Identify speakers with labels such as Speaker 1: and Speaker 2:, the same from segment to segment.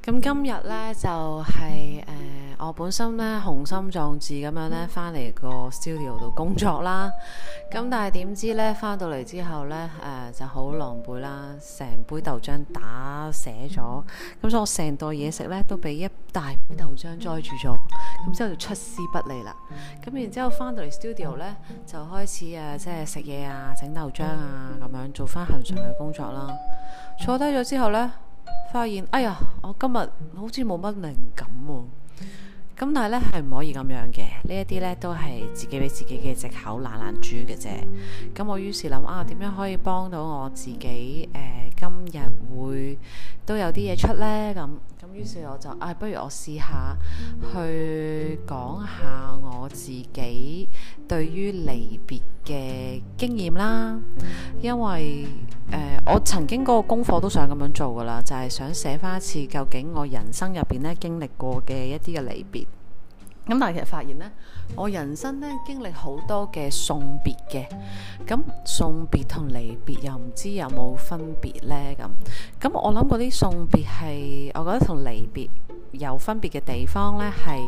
Speaker 1: 咁今日呢，就係我本身呢雄心壯志咁樣呢返嚟個 studio 度工作啦。咁但係點知呢，返到嚟之後呢，就好狼狽啦，成杯豆漿打瀉咗。咁所以我成袋嘢食呢都俾一大杯豆漿載住咗。咁之後就出師不利啦。咁然之後返到嚟 studio 呢，就開始即係食嘢啊、整豆漿啊咁樣做返恆常嘅工作啦。坐低咗之後呢，發現哎呀，我今日好似冇乜靈感喎。咁但係咧係唔可以咁樣嘅，呢一啲咧都係自己俾自己嘅藉口懶豬嘅啫。咁我於是諗點樣可以幫到我自己？今日會都有啲嘢出呢。咁於是我就不如我試下去講下我自己對於離別嘅經驗啦。因為我曾經嗰個功課都想咁樣做噶啦，就係想寫翻一次究竟我人生入邊咧經歷過嘅一啲嘅離別。咁但係其實發現呢，我人生咧經歷好多嘅送別嘅。咁送別同離別又唔知有冇分別呢？咁我諗嗰啲送別係，我覺得同離別有分別嘅地方呢係，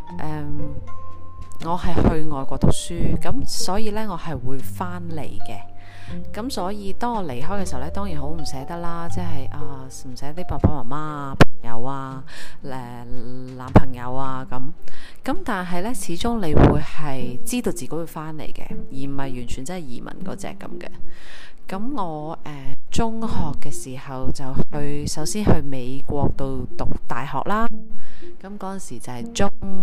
Speaker 1: 我係去外國讀書，咁所以呢，我係會翻嚟嘅。咁所以當我離開嘅時候呢，當然好唔捨得啦，即係唔捨得啲爸爸媽媽啊、朋友啊、男朋友啊咁但係呢，始終你會係知道自己會翻嚟嘅，而唔係完全真係移民嗰隻咁嘅。咁我中學嘅時候就首先去美國度讀大學啦。咁嗰陣時就係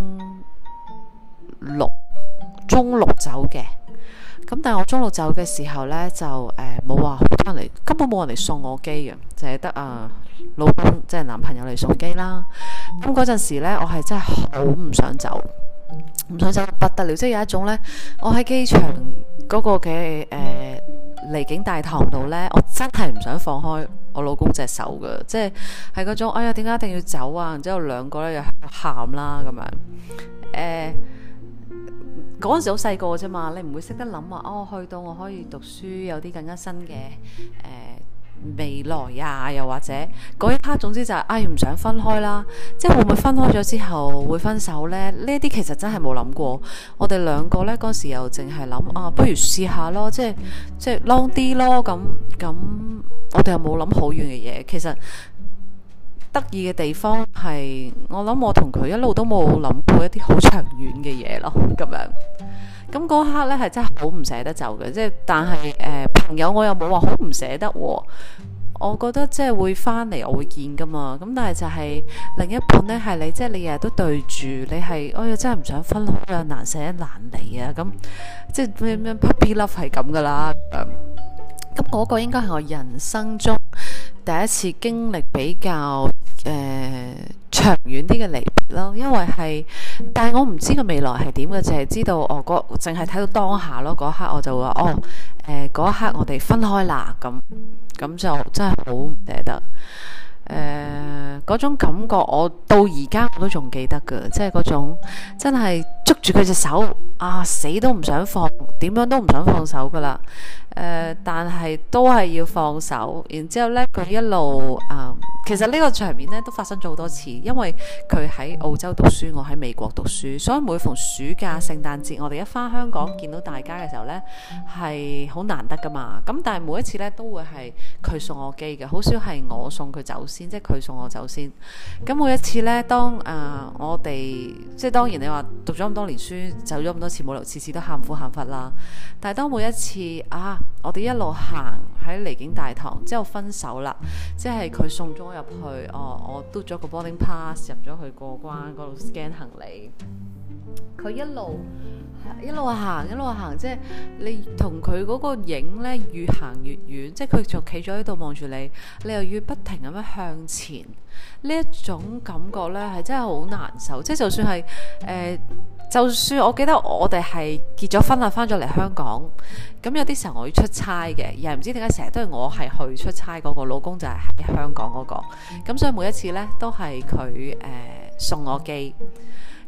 Speaker 1: 中六走嘅。咁但係我中六走嘅時候呢，就冇話好多人嚟，根本冇人嚟送我機嘅，就係得老公即係男朋友嚟送機啦。咁嗰陣時呢，我係真係好唔想走，唔想走不得了，即係有一種呢，我喺機場嗰個嘅離境大堂度呢，我真係唔想放開我老公隻手嘅，即係嗰種哎呀點解一定要走啊？然之後兩個呢又喊啦咁樣。嗰陣時好細個啫嘛，你唔會識得諗話去到我可以讀書，有啲更加新嘅未來啊，又或者嗰一刻，總之就係唔想分開啦。即係會唔會分開咗之後會分手呢？呢啲其實真係冇諗過。我哋兩個呢，嗰時又淨係諗不如試下咯，即係 long 啲咯。咁我哋又冇諗好遠嘅嘢。其實得意嘅地方係，我諗我同佢一路都冇諗過一啲好長遠嘅嘢咯，咁樣。咁嗰刻呢係真係好唔捨得走嘅，即係但係朋友我又冇話好唔捨得喎。我覺得即係會翻嚟，我會見噶嘛。咁但係就係另一半呢，係你即係你日日都對住，你係真係唔想分開啊，難捨難離啊，咁即係咩 puppy love 係咁噶啦。咁嗰個應該係我人生中第一次經歷比較長遠啲嘅離別咯，因為係，但係我唔知個未來係點嘅，淨係知道淨係睇到當下咯。嗰一刻我就話嗰一刻我哋分開啦，咁就真係好唔捨得。嗰種感覺我到而家我都仲記得㗎，即係嗰種真係捉住佢隻手死都唔想放，點樣都唔想放手噶啦。但係都係要放手。然之後呢，佢一路其實呢個場面呢都發生咗好多次，因為佢喺澳洲讀書，我喺美國讀書，所以每逢暑假、聖誕節，我哋一返香港見到大家嘅時候呢，係好難得噶嘛。咁但係每一次呢都會係佢送我機嘅，好少係我送佢走先，即係佢送我走先。咁每一次呢，當我哋即係當然你話讀咗咁多年書，走咗咁多次冇理由次次都喊苦喊忽啦。但係當每一次我哋一路行喺離境大堂之後分手啦，即係佢送咗我入去，我嘟咗個 boarding pass 入咗去過關嗰度 scan 行李，佢一路行，即係你同佢嗰個影呢越行越遠，即係佢就企咗喺度望住你，你又要不停咁樣向前，呢一種感覺呢係真係好難受。即係就算係就算我記得我哋係結咗婚啦，翻咗嚟香港，咁有啲時候我要出差嘅，又唔知點解成日都係我係去出差嗰個，老公就係喺香港嗰個，咁所以每一次呢都係佢送我機。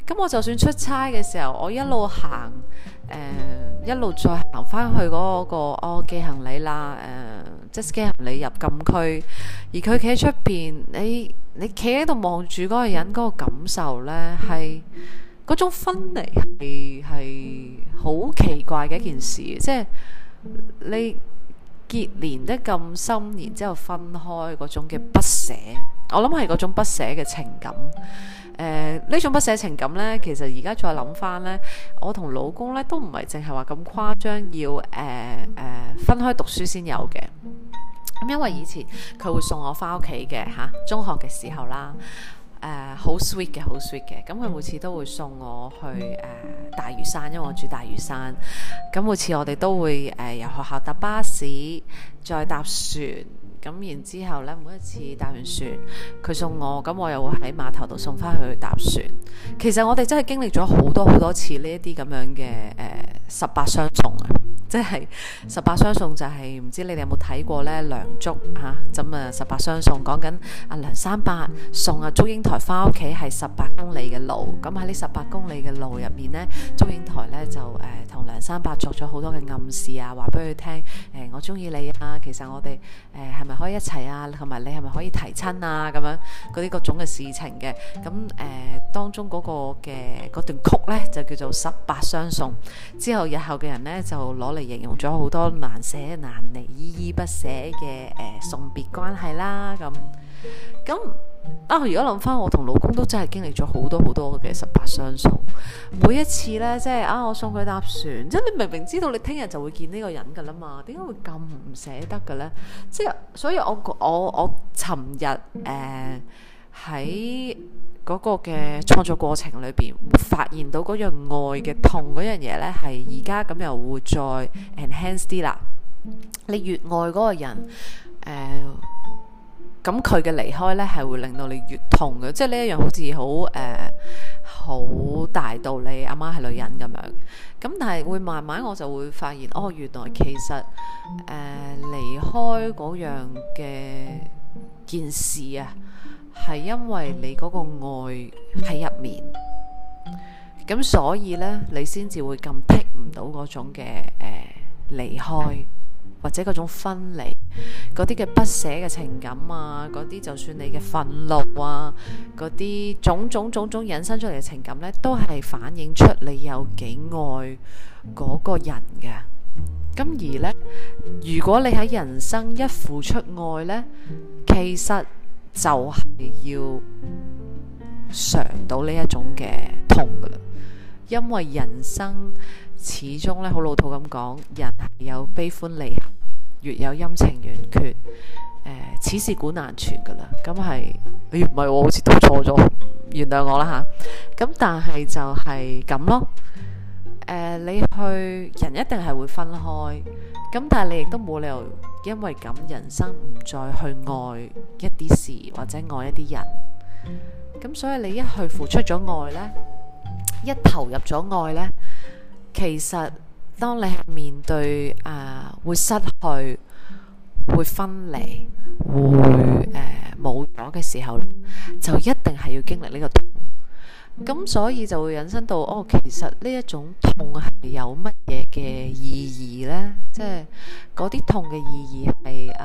Speaker 1: 咁我就算出差嘅時候，我一路行，一路再行翻去嗰個寄行李啦，即係寄行李入禁區，而佢企喺出邊，你企喺度望住嗰個人嗰個感受呢，係嗰種分離係好奇怪嘅一件事，即係你結連得咁深，然之後分開嗰種嘅不捨，我諗係嗰種不捨嘅情感。呢種不捨情感呢，其實而家再諗翻呢，我同老公呢都唔係淨係話咁誇張，要分開讀書先有嘅。咁因為以前佢會送我翻屋企嘅嚇，中學嘅時候啦，好 sweet 嘅，好 sweet 嘅。咁佢每次都會送我去大嶼山，因為我住大嶼山。咁每次我哋都會由學校搭巴士，再搭船。咁然之後呢，每一次搭完船，佢送我，咁我又會喺碼頭度送翻去搭船。其實我哋真係經歷咗好多好多次呢一啲咁樣嘅18相送啊！即係18相送就係、是、唔知你哋有冇睇過呢？梁祝嚇咁啊18相送，講緊阿梁山伯送阿祝英台翻屋企係18公里嘅路。咁喺呢18公里嘅路入面呢，祝英台呢就同梁山伯作咗好多嘅暗示啊，話俾佢聽我中意你啊，其實我哋係咪可以一齊啊？同埋你係咪可以提親啊？咁樣嗰啲各種嘅事情嘅。咁當中嗰個嘅嗰段曲呢，就叫做18相送。之後日後嘅人呢，就攞嚟形容咗好多難捨難離、依依不捨嘅送別關係啦。咁如果諗翻，我同老公都真係經歷咗好多好多嘅18相送。每一次呢，即係我送佢搭船，即係你明明知道你聽日就會見呢個人噶啦嘛，點解會咁唔捨得嘅呢？即係所以我尋日喺嗰個嘅創作過程裏邊，發現到嗰樣愛嘅痛嗰樣嘢呢，係而家咁又會再 enhance 啲啦。你越愛嗰個人，咁佢嘅離開呢，係會令到你越痛嘅，即係呢一樣好似好大道理，阿媽係女人咁樣。咁但係會慢慢我就會發現，原來其實離開嗰樣嘅件事啊，係因為你嗰個愛喺入面，咁所以呢，你先至會咁剔唔到嗰種嘅離開，或者嗰種分離，嗰啲嘅不捨嘅情感啊，嗰啲就算你嘅憤怒啊，嗰啲種種引申出嚟嘅情感呢，都係反映出你有幾愛嗰個人嘅。咁而呢，如果你喺人生一付出愛呢，其實就係要嘗到呢一種嘅痛噶啦，因為人生始終咧好老土咁講，人係有悲歡離合，月有陰晴圓缺，此事古難全噶啦。咁係，唔係我好似讀錯咗，原諒我啦吓。咁但係就係咁咯。你去人一定係會分開，咁但係你亦都冇理由因為咁人生唔再去愛一啲事或者愛一啲人。咁所以你一去付出咗愛呢，一投入咗愛呢，其實當你係面對會失去、會分離、會冇咗嘅時候，就一定係要經歷呢個痛。咁所以就會引申到其實呢一種痛係有乜嘢嘅意義呢？即係嗰啲痛嘅意義係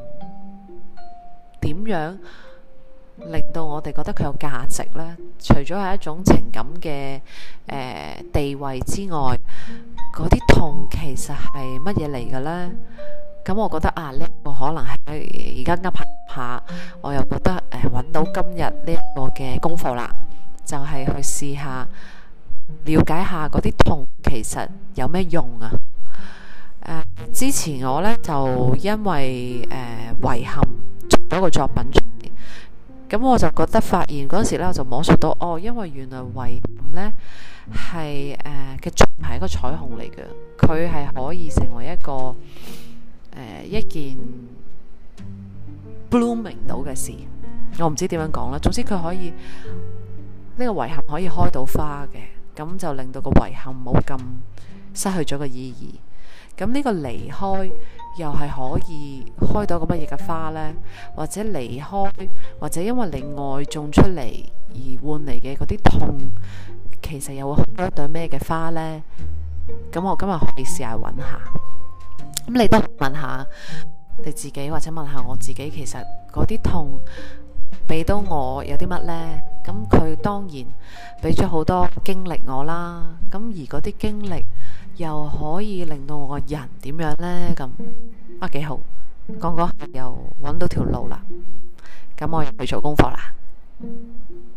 Speaker 1: 點樣令到我哋覺得佢有價值呢？除咗係一種情感嘅地位之外，嗰啲痛其實係乜嘢嚟嘅呢？咁我覺得呢個可能係而家噏下，我又覺得揾到今日呢一個嘅功課啦。就係去試下了解下嗰啲痛其實有咩用啊？之前我呢，就因為遺憾做咗個作品出嚟，咁我就覺得發現嗰時呢，我就摸索到因為原來遺憾呢係嘅作品係一個彩虹嚟嘅，佢係可以成為一個一件 blooming 到嘅事，我唔知點樣講啦。總之佢可以。呢個遺憾可以開到花嘅，咁就令到個遺憾冇咁失去咗個意義。咁呢個離開又係可以開到個乜嘢嘅花呢？或者離開，或者因為你愛種出嚟而換嚟嘅嗰啲痛， 其實又會開到一朵咩嘅花呢？咁我今日可以試下揾下。咁你都問下你自己，或者問下我自己，其實嗰啲痛俾到我有啲乜呢？咁佢當然俾咗好多經歷我啦。咁而嗰啲經歷又可以令到我個人點樣呢？咁啊幾好，講講又揾到條路啦。咁我又去做功課啦。